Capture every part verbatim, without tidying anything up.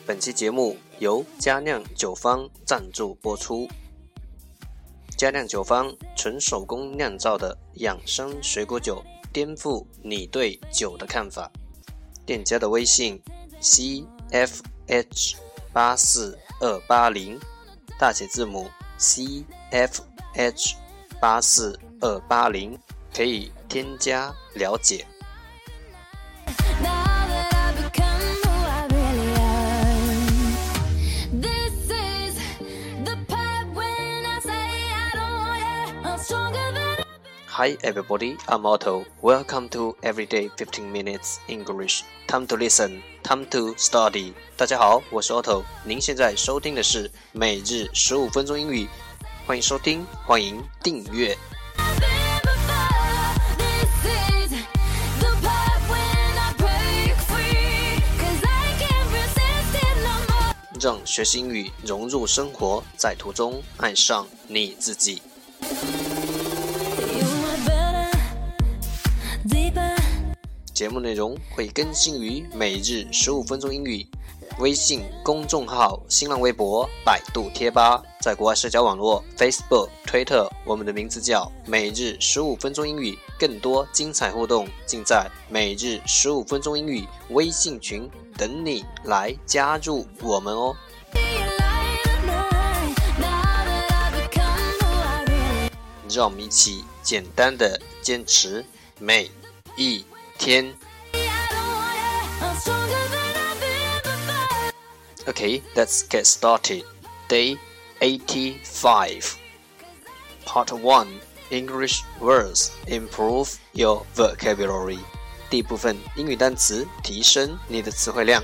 本期节目由佳酿酒坊赞助播出。佳酿酒坊纯手工酿造的养生水果酒，颠覆你对酒的看法。店家的微信 C F H 八四二八零， 大写字母 C F H 八四二八零， 可以添加了解。Hi everybody, I'm Otto. Welcome to Everyday fifteen minutes English. Time to listen, time to study. 大家好，我是 Otto。您现在收听的是每日十五分钟英语，欢迎收听，欢迎订阅。让学习英语融入生活，在途中爱上你自己。节目内容会更新于每日十五分钟英语微信公众号、新浪微博、百度贴吧，在国外社交网络 Facebook、推特，我们的名字叫每日十五分钟英语。更多精彩互动尽在每日十五分钟英语微信群，等你来加入我们哦。让我们一起简单的坚持每一天。Okay, let's get started. Day eighty-five. Part one, English words. Improve your vocabulary. 第一部分英语单词，提升你的词汇量。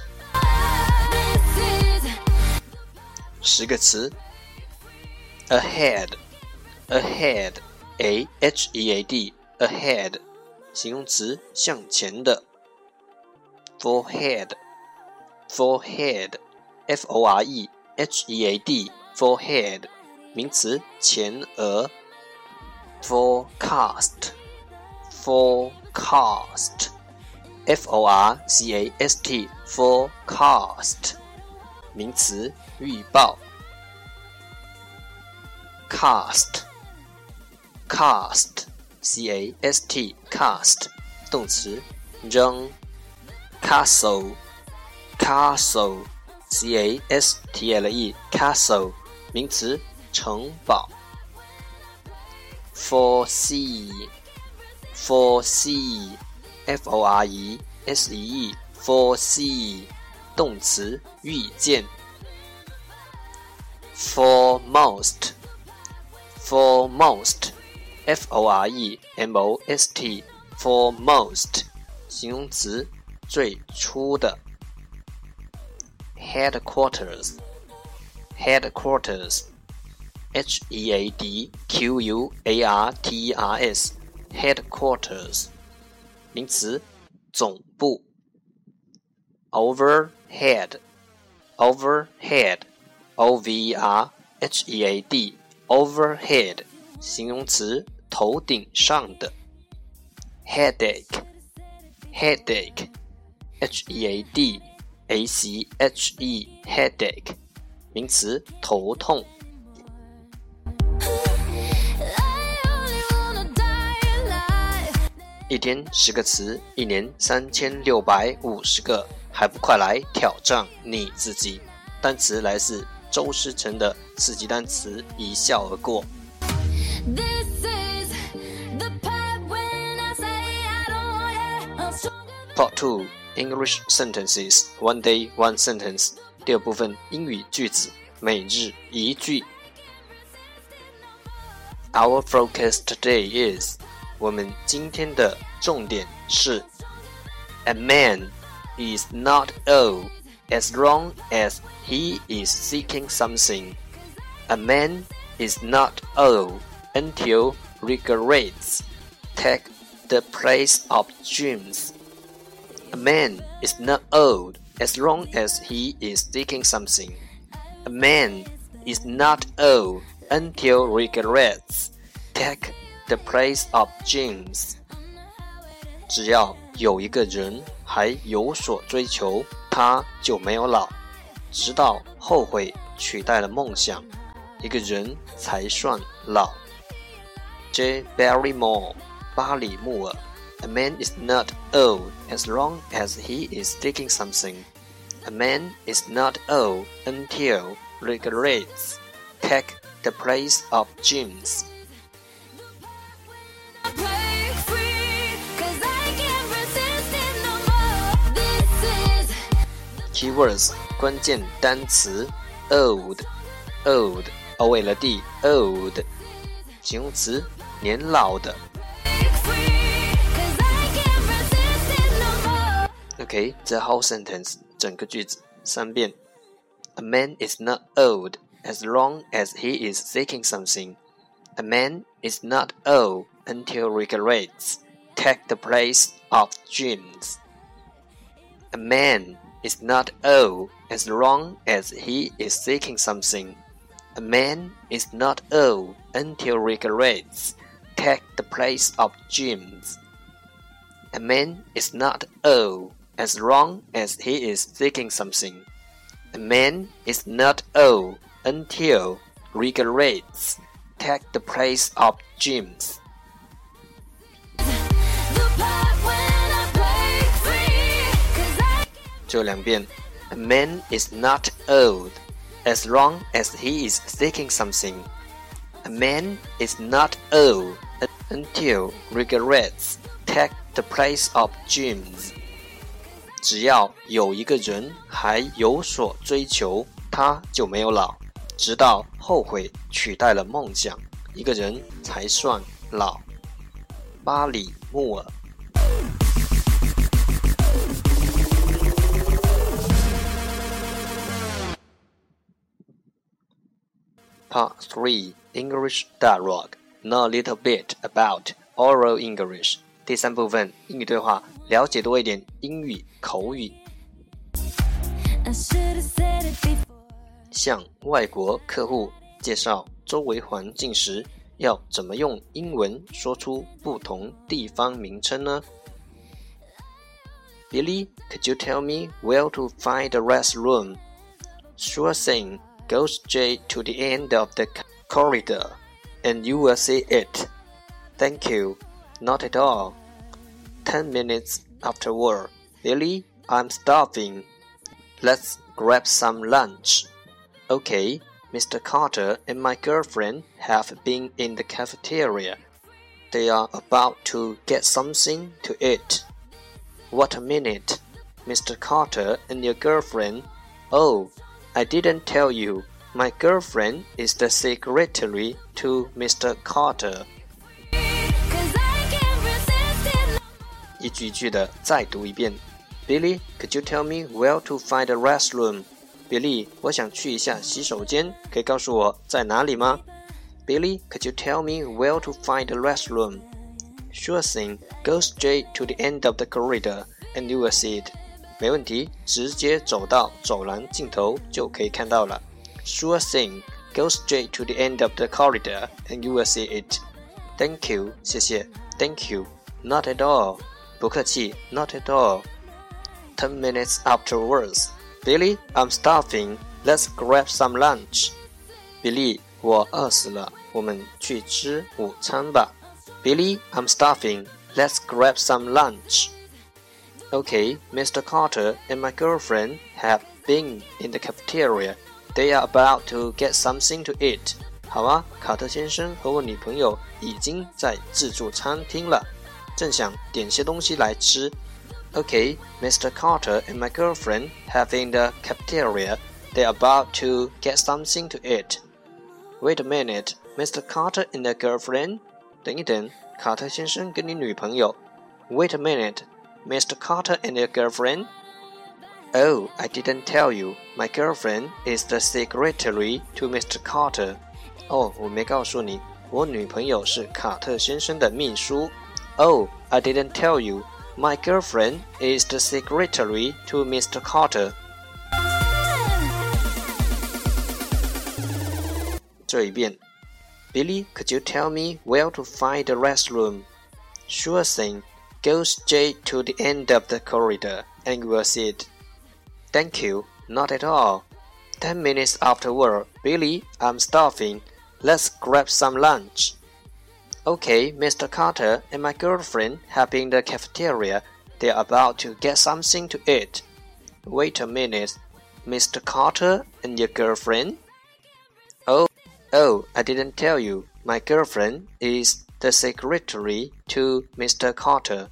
十个词 Ahead, ahead, A H E A D, ahead, 形容词，向前的。Forehead, forehead, F O R E H E A D, forehead, 名词，前额。Forecast, forecast, F O R C A S T, forecast, 名词，预报。Cast, cast, C A S T, cast, 动词，扔。Castle, castle, C A S T L E, castle, 名词，城堡。Foresee, foresee, F O R E S E E, foresee, 动词，预见。Foremost, foremost, F O R E M O S T, foremost, 形容词，最初的。Headquarters, headquarters, H E A D Q U A R T E R S, headquarters, 名词，总部。Overhead, overhead, O V E R H E A D, overhead, 形容词，头顶上的。Headache, headache, H E A D A C H E, headache, 名词，头痛。一天十个词，一年三千六百五十个，还不快来挑战你自己？单词来自周诗成的四级单词，一笑而过。Part two, English sentences, one day one sentence. 第二部分英语句子，每日一句。Our focus today is, 我们今天的重点是 A man is not old as long as he is seeking something. A man is not old until regrets take the place of dreams. A man is not old as long as he is seeking something. A man is not old until regrets take the place of dreams. 只要有一个人还有所追求，他就没有老。 直到后悔取代了梦想，一个人才算老。J. Barrymore 巴里穆尔 A man is not old as long as he is seeking something. A man is not old until regrets take the place of dreams. Keywords 关键单词 old old O L D old 形容词年老的。OK, the whole sentence 整个句子三遍。A man is not old as long as he is seeking something. A man is not old until regrets take the place of dreams. A man is not old as long as he is seeking something. A man is not old until regrets take the place of dreams. A man is not old as long as he is seeking something. A man is not old until regrets take the place of dreams. 就两遍 A man is not old as long as he is seeking something. A man is not old until regrets take the place of dreams. 只要有一个人还有所追求，他就没有老，直到后悔取代了梦想，一个人才算老。巴里穆尔。Part three English Dialogue. Know a little bit about oral English. 第三部分英语对话，了解多一点英语口语。向外国客户介绍周围环境时，要怎么用英文说出不同地方名称呢？ Billy, could you tell me where to find the restroom? Sure thing. Go straight to the end of the corridor, and you will see it. Thank you. Not at all. Ten minutes afterward. Billy, I'm starving. Let's grab some lunch. Okay, Mister Carter and my girlfriend have been in the cafeteria. They are about to get something to eat. What a minute. Mister Carter and your girlfriend. Oh, I didn't tell you. My girlfriend is the secretary to Mister Carter. 一句一句的再读一遍。Billy, could you tell me where to find the restroom? Billy, 我想去一下洗手间，可以告诉我在哪里吗？ Billy, could you tell me where to find the restroom? Sure thing. Go straight to the end of the corridor, and you will see it. 没问题，直接走到走廊尽头就可以看到了。Sure thing. Go straight to the end of the corridor, and you will see it. Thank you. 谢谢。Thank you. Not at all. 不客气。Not at all. Ten minutes afterwards. Billy, I'm starving. Let's grab some lunch. Billy, 我饿死了，我们去吃午餐吧。Billy, I'm starving. Let's grab some lunch.Okay, Mister Carter and my girlfriend have been in the cafeteria. They are about to get something to eat. 好啊，卡特先生和我女朋友已经在自助餐厅了，正想点些东西来吃。Okay, Mister Carter and my girlfriend have been in the cafeteria. They are about to get something to eat. Wait a minute, Mister Carter and your girlfriend? 等一等，卡特先生跟你女朋友。Wait a minute.Mister Carter and your girlfriend? Oh, I didn't tell you. My girlfriend is the secretary to Mister Carter. 哦，我没告诉你，我女朋友是卡特先生的秘书。Oh, I didn't tell you. My girlfriend is the secretary to Mister Carter. 这一遍。Billy, could you tell me where to find the restroom? Sure thing.Go straight to the end of the corridor, and you will see it. Thank you. Not at all. Ten minutes after work, Billy, I'm starving. Let's grab some lunch. Okay, Mister Carter and my girlfriend have been in the cafeteria. They're about to get something to eat. Wait a minute, Mister Carter and your girlfriend? Oh, oh, I didn't tell you. My girlfriend is the secretary to Mister Carter.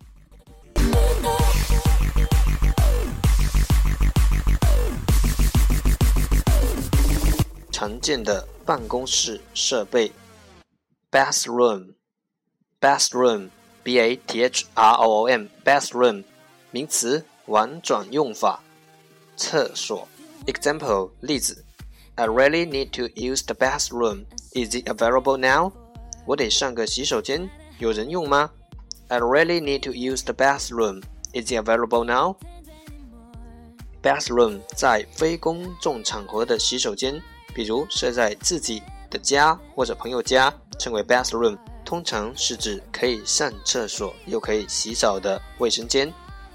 常见的办公室设备 Bathroom Bathroom B A T H R O O M Bathroom 名词婉转用法厕所 Example 例子 I really need to use the bathroom. Is it available now? 我得上个洗手间，有人用吗？ I really need to use the bathroom. Is it available now? Bathroom 在非公众场合的洗手间，比如设在自己的家或者朋友家，称为 bathroom， 通常是指可以上厕所又可以洗澡的卫生间。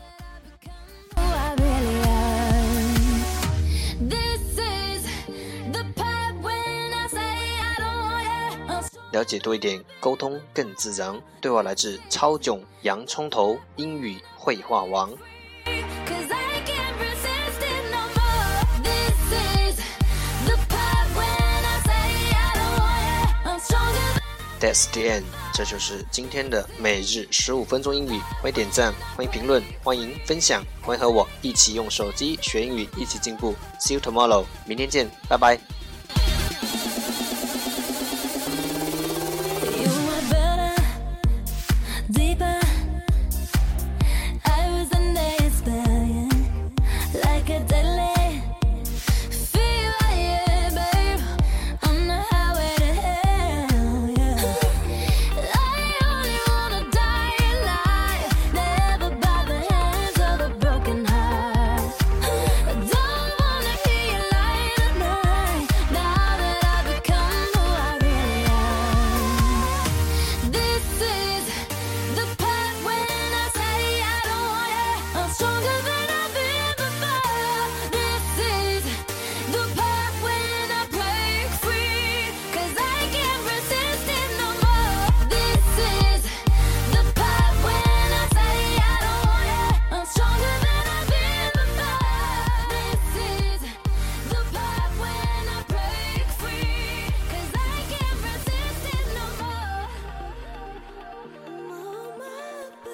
了解多一点，沟通更自然。对话来自超囧洋葱头英语绘画王。That's the end， 这就是今天的每日十五分钟英语。欢迎点赞，欢迎评论，欢迎分享，欢迎和我一起用手机学英语，一起进步。See you tomorrow， 明天见，拜拜。